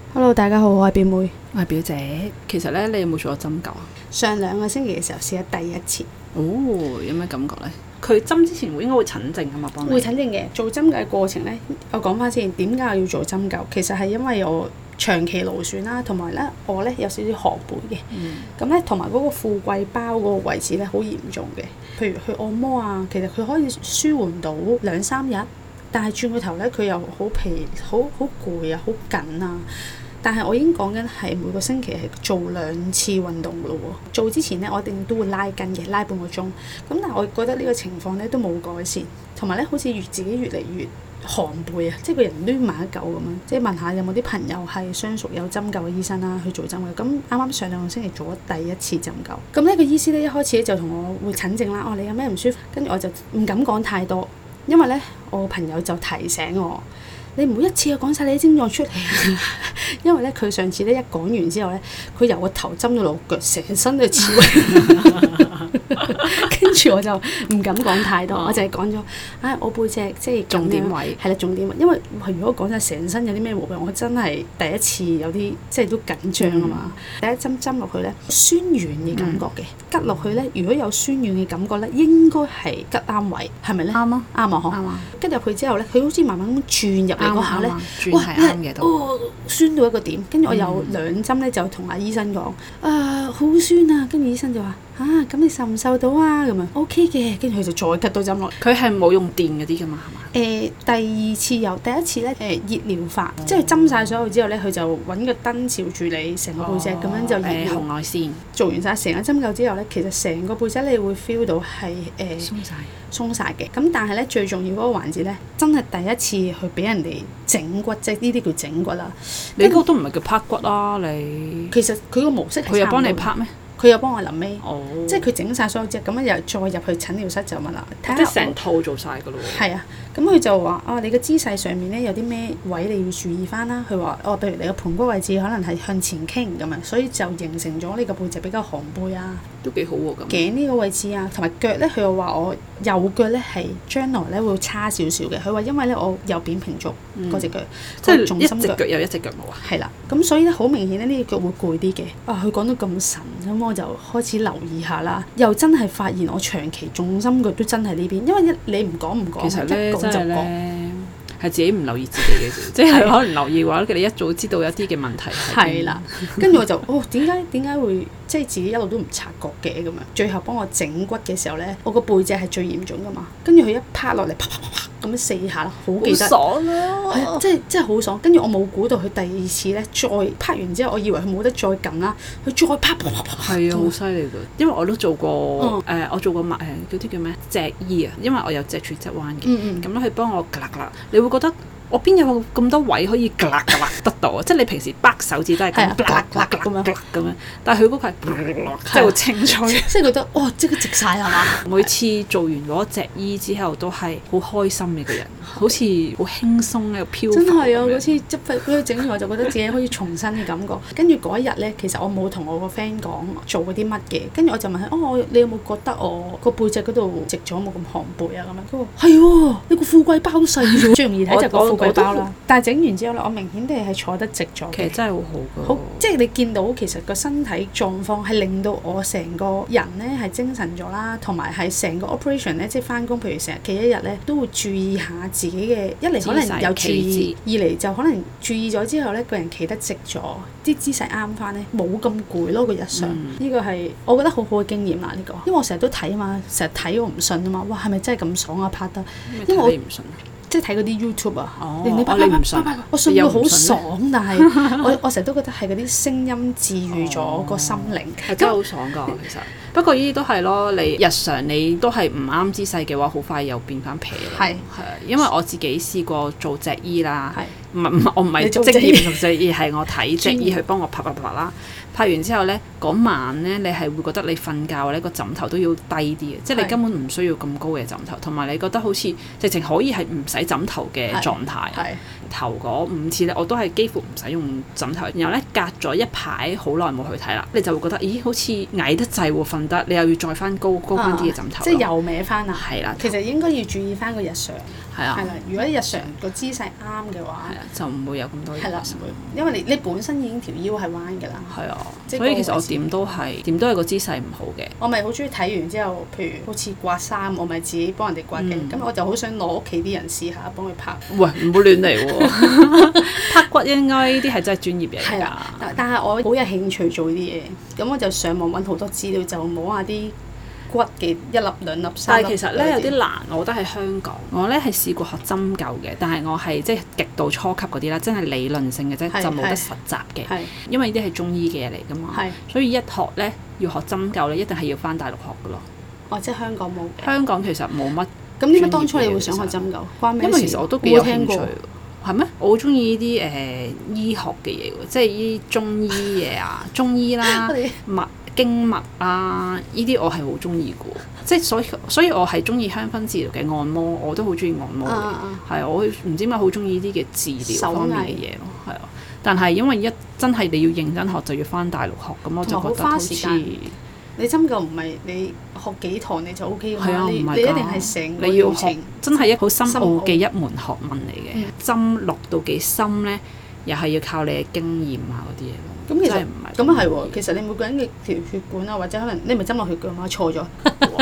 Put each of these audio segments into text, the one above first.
Hello， 大家好，我係表妹， 我係表姐。其實咧，你有冇做過針灸啊？ 上2個星期嘅時候試咗第一次。 哦，有咩感覺咧？佢針之前應該會診症㗎嘛，幫你。會診症嘅。做針灸嘅過程咧，我講翻先，點解我要做針灸？其實係因為我長期勞損啦，同埋咧我咧有少少寒背嘅。咁咧同埋嗰個富貴包嗰個位置咧好嚴重嘅。譬如去按摩啊，其實佢可以舒緩到2-3日，但係轉個頭咧佢又好疲、好攰啊、好緊啊。但係我已經講緊係每個星期係做2次運動噶咯喎。做之前咧，我一定都會拉筋嘅，拉半個鐘。咁但係我覺得呢個情況咧都冇改善，同埋咧好似自己越嚟越寒背啊，即係個人攣埋一嚿咁樣。即係問下有冇啲朋友係相熟有針灸嘅醫生啦，去做針灸。咁啱啱上2個星期做咗第一次針灸。咁呢個醫師咧一開始咧就同我會診症啦。你有咩唔舒服？跟住我就唔敢講太多，因為咧我朋友就提醒我。你唔好一次就講晒你啲症狀出嚟，因為咧佢上次咧一講完之後咧，佢由個頭針到落腳，成身都刺。跟住我就唔敢講太多，我就係講咗，我背脊即係重點位， 係啦重點位，因為如果講晒成身有啲咩毛病，我真係第一次有啲即係都緊張啊嘛。第一針落去咧，酸軟嘅感覺嘅，拮落去咧，如果有酸軟嘅感覺咧，應該係拮啱位，係咪咧？啱啊，啱啊，嗬。拮入去之後咧，佢好似慢慢咁轉入嚟嗰下咧，哇，酸到一個點。跟住我有2針咧，就同阿醫生講，好酸啊。跟住醫生就話，咁你受唔受到啊？咁樣 OK 嘅，跟住佢就再拮多針落。 佢係冇用電嗰啲噶嘛，係嘛？ 第2次有，第一次咧熱療法，即係針晒所有之後咧，佢就揾個燈照住你成個背脊咁樣就熱療。紅外線。做完晒成個針灸之後咧，其實成個背脊你會 feel 到係鬆晒嘅。咁但係咧最重要嗰個環節咧，真係第一次去俾人哋整骨，即係呢啲叫整骨啦。 你嗰個都唔係叫拍骨啦，你。 其實佢個模式係差唔多。佢有幫你拍咩？ 佢有幫我臨尾，即係佢整晒所有隻，咁樣又再入去診療室就問啦，睇下即係成套做晒噶咯喎。係啊， 咁佢就話你個姿勢上面咧有啲咩位你要注意翻啦。佢話譬如你個盤骨位置可能係向前傾咁樣，所以就形成咗呢個背脊比較寒背啊。 都幾好喎咁。頸呢個位置啊，同埋腳咧，佢又話我右腳咧係將來咧會差少少嘅。佢話因為咧我有扁平足嗰隻腳， 即係一隻腳有一隻腳冇啊。係啦， 咁所以咧好明顯咧呢隻腳會攰啲嘅。佢講到咁神咁我就開始留意下啦，又真係發現我長期重心腳都真係呢邊，因為你唔講， 其實咧一講就講， 係自己唔留意自己嘅啫，即係可能留意嘅話，你一早知道有啲嘅問題係啦。 跟住我就點解會即係自己一路都唔察覺嘅咁樣？最後幫我整骨嘅時候咧，我個背脊係最嚴重噶嘛，跟住佢一拍落嚟，啪啪啪啪咁樣4下啦，好記得。 好爽啊！ 係啊，即係好爽。跟住我冇估到佢第2次咧，再拍完之後，我以為佢冇得再撳啦，佢再拍啪啪啪。係啊， 好犀利㗎！因為我都做過我做過嗰啲叫咩脊醫啊，因為我有脊柱側彎嘅，咁咧佢幫我㗎啦㗎啦，你會覺得。我邊有咁多位可以㗎啦㗎啦得到啊！即係你平時掰手指都係咁㗎啦㗎啦咁樣，但係佢嗰個係即係好清脆， 即係覺得即刻直晒係嘛！ 每次做完嗰隻醫之後都係好開心嘅個人，好似好輕鬆喺度飄。真係啊！嗰次即係佢整完我就覺得自己好似重新嘅感覺。跟住嗰一日咧，其實我冇同我個 friend 講做嗰啲乜嘅，跟住我就問佢你有冇覺得我個背脊嗰度直咗冇咁寒背啊？咁樣佢話係喎，你個富貴包都細咗，最容易睇就個富貴包啦。但係整完之後咧，我明顯地係坐得直咗嘅。 其實真係好好㗎。好， 即係你見到其實個身體狀況係令到我成個人咧係精神咗啦，同埋係成個 operation 咧，即係翻工，譬如成日企一日咧，都會注意下自己嘅一嚟可能有注意，二嚟就可能注意咗之後咧，個人企得直咗，啲姿勢啱翻咧，冇咁攰咯個日常。呢個係我覺得好好嘅經驗啦呢個，因為我成日都睇啊嘛，成日睇我唔信啊嘛，哇係咪真係咁爽啊拍得？因為我唔信。即係睇嗰啲 YouTube 啊，你唔信？我信到好爽，但係我成日都覺得係嗰啲聲音治愈咗個心靈， 係真係好爽㗎其實。不過呢啲都係咯，你日常你都係唔啱姿勢嘅話，好快又變翻皮啦。係因為我自己試過做脊醫啦，我唔係職業做脊醫，係我睇脊醫去幫我拍啦。拍完之後咧，嗰晚咧，你係會覺得你瞓覺咧個枕頭都要低啲嘅，即係你根本唔需要咁高嘅枕頭，同埋你覺得好似直情可以係唔使枕頭嘅狀態。 頭嗰5次咧，我都係幾乎唔使用枕頭，然後咧隔咗一排好耐冇去睇啦，你就會覺得咦好似矮得滯喎，瞓得你又要再翻高翻啲嘅枕頭， 即係又歪翻啊！ 係啦， 其實應該要注意翻個日常。 係啊， 係啦，如果日常個姿勢啱嘅話， 就唔會有咁多嘢。 係啦，唔會，因為你本身已經條腰係彎㗎啦。係啊， 所以其實我點都係個姿勢唔好嘅。 我咪好中意睇完之後，譬如好似刮衫，我咪自己幫人哋刮嘅。咁我就好想攞屋企啲人試下幫佢拍。 喂，唔好亂嚟喎！拍骨應該呢啲係真係專業嘢㗎。 但係我好有興趣做呢啲嘢，咁我就上網揾好多資料，就摸下啲骨嘅1粒2粒3粒。 但係其實咧有啲難，我覺得喺香港，我咧係試過學針灸嘅，但係我係即係極度初級嗰啲啦，真係理論性嘅啫，就冇得實習嘅。因為呢啲係中醫嘅嘢嚟㗎嘛，所以一學咧要學針灸咧，一定係要返大陸學㗎咯。 哦，即係香港冇嘅。香港其實冇乜。 咁點解當初你會想學針灸？關咩事？ 因為其實我都幾有興趣。係咩？我好中意呢啲醫學嘅嘢喎，即係呢啲中醫嘢啊，中醫啦、經脈啊，呢啲我係好中意嘅。即係所以我係中意香薰治療嘅按摩，我都好中意按摩嘅。係我唔知點解好中意呢啲嘅治療方面嘅嘢咯。係啊，但係因為真係你要認真學，就要返大陸學，咁我就覺得好似。 你針灸唔係你學幾堂你就 OK 㗎嘛？你一定係成個你要學，真係一好深奧嘅一門學問嚟嘅。針落到幾深咧，又係要靠你嘅經驗啊嗰啲嘢咯。 咁其實唔係咁啊，係喎。其實你每個人嘅條血管啊，或者可能你咪針落血㗎嘛，錯咗。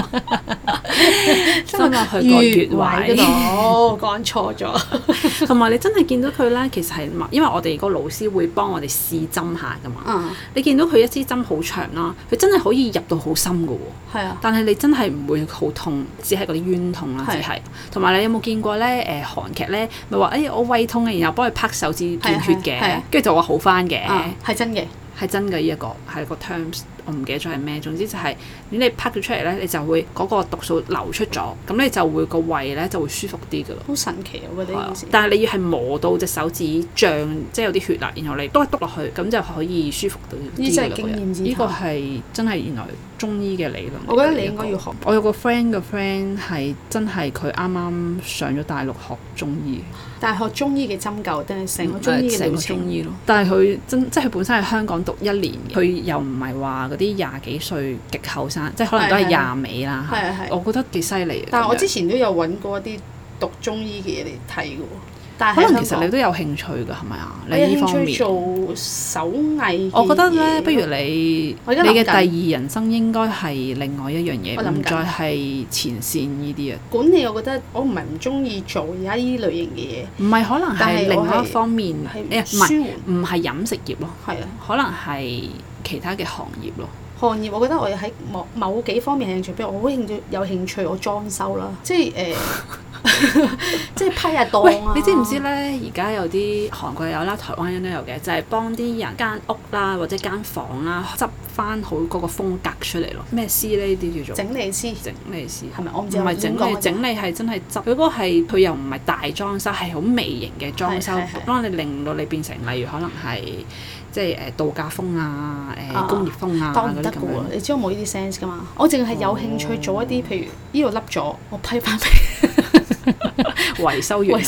針落去個穴位嗰度， 講錯咗。 同埋你真係見到佢咧，其實係因為我哋個老師會幫我哋試針下㗎嘛。你見到佢一支針好長啦，佢真係可以入到好深㗎喎。係啊。但係你真係唔會好痛，只係嗰啲冤痛啦，只係。同埋你有冇見過咧？韓劇咧咪話我胃痛嘅，然後幫佢拍手指見血嘅，跟住就話好返嘅。 係真嘅。係真嘅，呢一個係個 terms， 我唔記得咗係咩。總之就係你拍咗出嚟咧，你就會嗰個毒素流出咗，咁你就會個胃咧就會舒服啲㗎咯。好神奇啊！我覺得呢件事。但係你要係磨到隻手指脹，即係有啲血啦，然後你篤落去，咁就可以舒服到啲。呢真係經驗之談。呢個係真係原來中醫嘅理論。我覺得你應該要學。我有個 friend 嘅 friend 係真係佢啱啱上咗大陸學中醫。但係學中醫嘅針灸定係成個中醫嘅療程咯。但係佢即係佢本身喺香港讀1年，佢又唔係話嗰啲20幾歲極後生，即係可能都係20尾啦。我覺得幾犀利。但係我之前都有揾過一啲讀中醫嘅嘢嚟睇嘅喎。但係可能其實你都有興趣㗎，係咪啊？你呢方面做手藝。我覺得咧，不如你嘅第二人生應該係另外一樣嘢，唔再係前線呢啲啊。管理我覺得我唔係唔中意做而家呢類型嘅嘢。唔係可能係另外一方面，唔係飲食業咯。係啊，可能係其他嘅行業咯。行業我覺得我喺某幾方面係興趣，譬如我好有興趣我裝修啦，即係即係批下檔啊！你知唔知咧？而家有啲韓國有啦，台灣人都有嘅，就係幫啲人間屋啦或者間房啦執翻好嗰個風格出嚟咯。咩師呢啲叫做整理師？整理師係咪？我唔知。唔係整理係真係執。佢嗰個係佢又唔係大裝修，係好微型嘅裝修，幫你令到你變成例如可能係即係度假風啊、工業風啊嗰啲咁樣。你知我冇呢啲 sense 㗎嘛？我淨係有興趣做一啲，譬如呢度凹咗，我批翻俾維修員。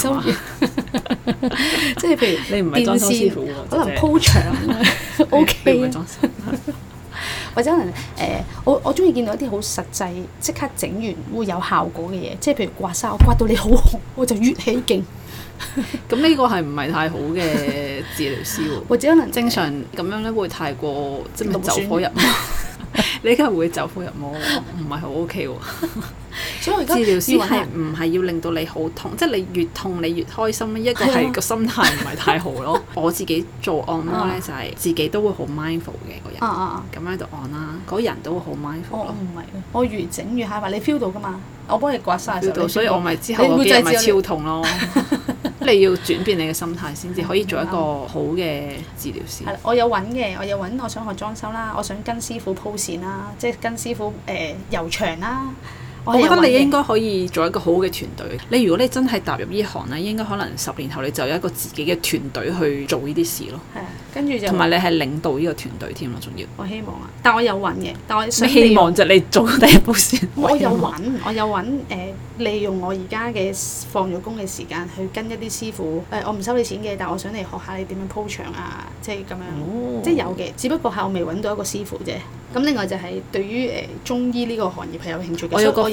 即係譬如你唔係裝修師傅，可能鋪牆 OK。或者可能我中意見到一啲好實際，即刻整完會有效果嘅嘢，即係譬如刮痧，我刮到你好紅，我就越起勁。咁呢個係唔係太好嘅治療師喎？或者可能正常咁樣咧，會太過即係走火入魔。你梗係會走火入魔，唔係好 OK 喎。所以我而家治療師係唔係要令到你好痛？即係你越痛你越開心。一個係個心態唔係太好咯。我自己做按摩咧，就係自己都會好 mindful 嘅個人。咁喺度按啦，嗰人都會好 mindful 咯。唔係，我越整越嚇嘛，你 feel 到㗎嘛？我幫你刮痧嘅時候，所以我咪之後嗰幾日咪超痛咯。你要轉變你嘅心態先至可以做一個好嘅治療師。係啦，我有揾，我想學裝修啦，我想跟師傅鋪線啦，即係跟師傅油牆啦。我覺得你應該可以做一個好嘅團隊。你如果你真係踏入呢行咧，應該可能10年後你就有一個自己嘅團隊去做呢啲事咯。係啊。 跟住就同埋你係領導呢個團隊添咯，仲要。 我希望啊，但我有揾嘅，但我想希望就你做第一步先。 我有揾利用我而家嘅放咗工嘅時間去跟一啲師傅我唔收你錢嘅，但我想嚟學下你點樣鋪場啊，即係咁樣，即係有嘅，只不過係我未揾到一個師傅啫。咁另外就係對於中醫呢個行業係有興趣嘅。我有個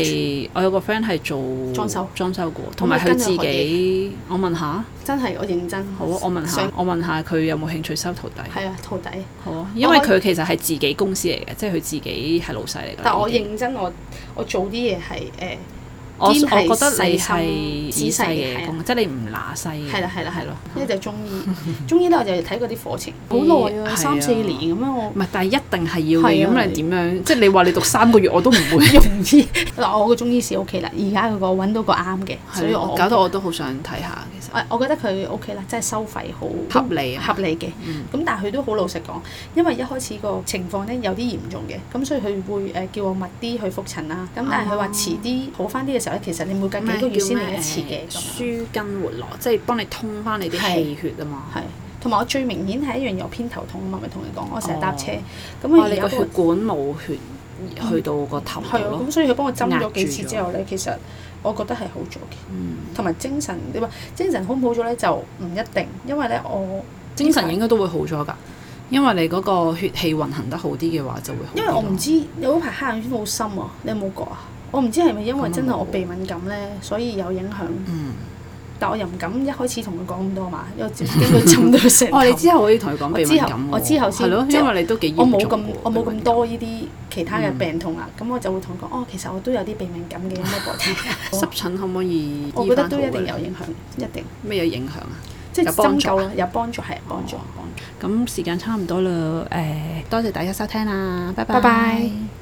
friend 係做裝修過，同埋佢自己。我問下。 真係我認真。好啊， 我問下佢有冇興趣收徒弟。 係啊，徒弟。 好啊，因為佢其實係自己公司嚟嘅，即係佢自己係老細嚟嘅。 但我認真，我做啲嘢係我覺得你係仔細嘅工，即係你唔揦西嘅。 係啦。呢就中醫，中醫咧我就睇過啲課程，好耐啊，3-4年咁樣我。 唔係，但係一定係要嘅。咁你點樣？即係你話你讀3個月，我都唔會容易。嗱，我個中醫師 OK 啦，而家嗰個揾到個啱嘅，所以我搞到我都好想睇下。其實我覺得佢 OK 啦，即係收費好合理嘅。咁但係佢都好老實講，因為一開始個情況咧有啲嚴重嘅，咁所以佢會叫我密啲去覆診啦。咁但係佢話遲啲好翻啲嘅時候咧，其實你每隔幾個月先嚟一次嘅。 舒筋活絡，即係幫你通翻你啲氣血啊嘛。 係，同埋我最明顯係一樣有偏頭痛啊嘛，咪同你講，我成日搭車，咁你個血管冇血去到個頭度咯。 咁所以佢幫我針咗幾次之後咧，其實我覺得係好咗嘅。同埋精神，你話精神好唔好咗咧就唔一定，因為咧我精神應該都會好咗㗎，因為你嗰個血氣運行得好啲嘅話就會好啲。 因為我唔知有嗰排黑眼圈好深啊，你有冇覺啊？我唔知係咪因為真係我鼻敏感咧，所以有影響。但我又唔敢一開始同佢講咁多嘛，因為驚佢針到成頭。 你之後可以同佢講鼻敏感喎。 我之後先。係咯， 因為你都幾嚴重。 我冇咁多呢啲其他嘅病痛啦，咁我就會同佢講，其實我都有啲鼻敏感嘅，有咩幫我？ 濕疹可唔可以？ 我覺得都一定有影響，一定。 咩有影響啊？ 即係針灸咯，有幫助係幫助。 咁時間差唔多啦，多謝大家收聽啦，拜拜。